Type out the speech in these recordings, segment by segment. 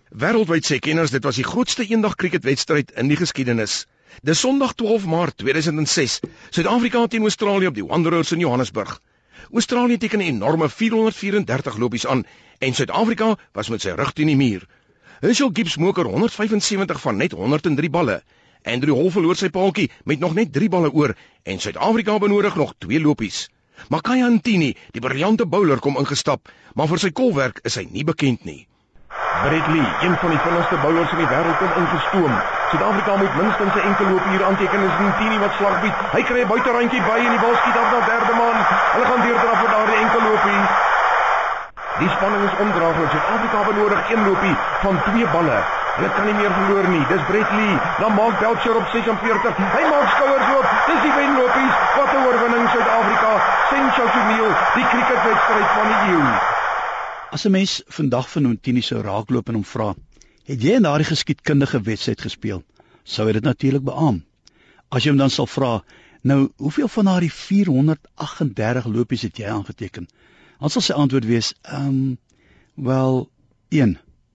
Wêreldwyd sê kenners dit was die grootste eendag cricketwedstryd in die geskiedenis. Dis Sondag 12 Maart 2006, Suid-Afrika teen Australië op die Wanderers in Johannesburg. Australië teken 'n enorme 434 lopies aan en Suid-Afrika was met sy rug teen die muur. Herschel Gibbs moker 175 van net 103 balle. Andrew Hall verloor sy paaltjie met nog net 3 balle oor en Suid-Afrika benodig nog 2 lopies. Makaya Ntini, die briljante bowler, kom ingestap, maar vir sy kolwerk is hy nie bekend nie. Brett Lee, een van die vinnigste bowlers in die wêreld, kom ingestoom. Suid-Afrika moet minstens 'n enkel loopie hier aanteken, is Ntini wat slag bied. Hy kry 'n buiterandjie by en die bal skiet af na derde man. Hulle gaan deurdraf vir daardie enkel loopie. Die spanning is ondraaglik. Suid-Afrika benodig 1 loopie van 2 balle. Hulle kan nie meer verloor nie. Dis Brett Lee. Dan maak Belcher op 46. Hy maak skouers oop. Dis die wenlopies. Wat 'n oorwinning Suid-Afrika. Sensasioneel. Die cricketwedstryd van die eeu. As 'n mens vandag van Ntini sou raakloop en hom vra, het jy in daardie geskiedkundige wedstryd gespeel? Sou hy dit natuurlik beamoen. As jy hom dan sal vra, nou, hoeveel van daardie 438 lopies het jy aangeteken? Dan sal sy antwoord wees, wel, 1.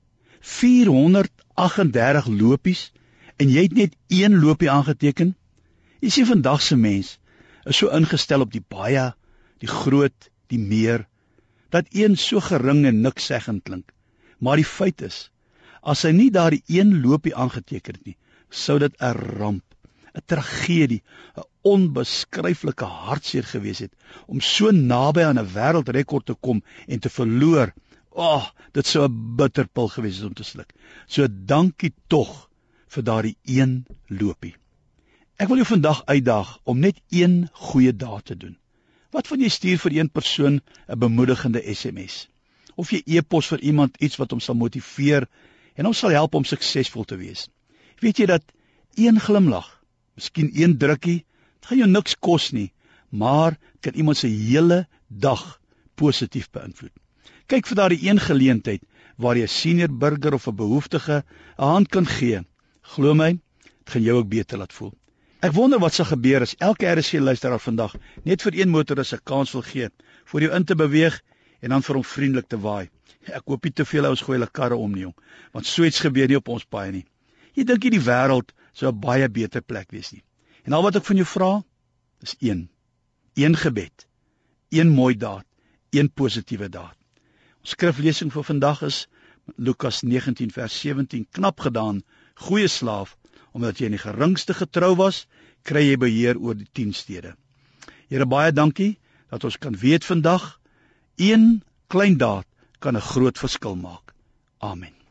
438 lopies en jy het net 1 lopie aangeteken? Jy sien, vandag se mens is so ingestel op die baie, die groot, die meer, dat 1 so gering en niks seggend klink. Maar die feit is, as hy nie daardie 1 lopie aangeteken het nie, sou dit 'n ramp, 'n tragedie, 'n onbeskryflike hartseer gewees het, om so naby aan 'n wêreldrekord te kom en te verloor. Dit sou 'n bitterpil gewees het om te sluk. So dankie tog vir daardie 1 lopie. Ek wil jou vandag uitdaag om net 1 goeie daad te doen. Wat van jy stuur vir 1 persoon 'n bemoedigende SMS? Of jy e-pos vir iemand iets wat hom sal motiveer en hom sal help om suksesvol te wees? Weet jy dat 1 glimlag, miskien 1 drukkie, dit gaan jou niks kos nie, maar kan iemand se hele dag positief beïnvloed. Kyk vir daardie 1 geleentheid waar jy 'n senior burger of 'n behoeftige 'n hand kan gee. Glo my, dit gaan jou ook beter laat voel. Ek wonder wat sal gebeur as elke RSG-luisteraar vandag net vir 1 motoris 'n kans wil gee, vir jou in te beweeg en dan vir hom vriendelik te waai. Ek hoop nie te veel ouens gooi hulle karre om nie, jong, want so iets gebeur nie op ons paaie nie. Jy dink nie die wêreld sou 'n baie beter plek wees nie. En al wat ek van jou vra, is 1 gebed, 1 mooi daad, 1 positiewe daad. Ons skriflesing vir vandag is Lukas 19 vers 17, knap gedaan, goeie slaaf, omdat jy in die geringste getrou was, kry jy beheer oor die 10 stede. Here, baie dankie dat ons kan weet vandag, 1 klein daad kan 'n groot verskil maak. Amen.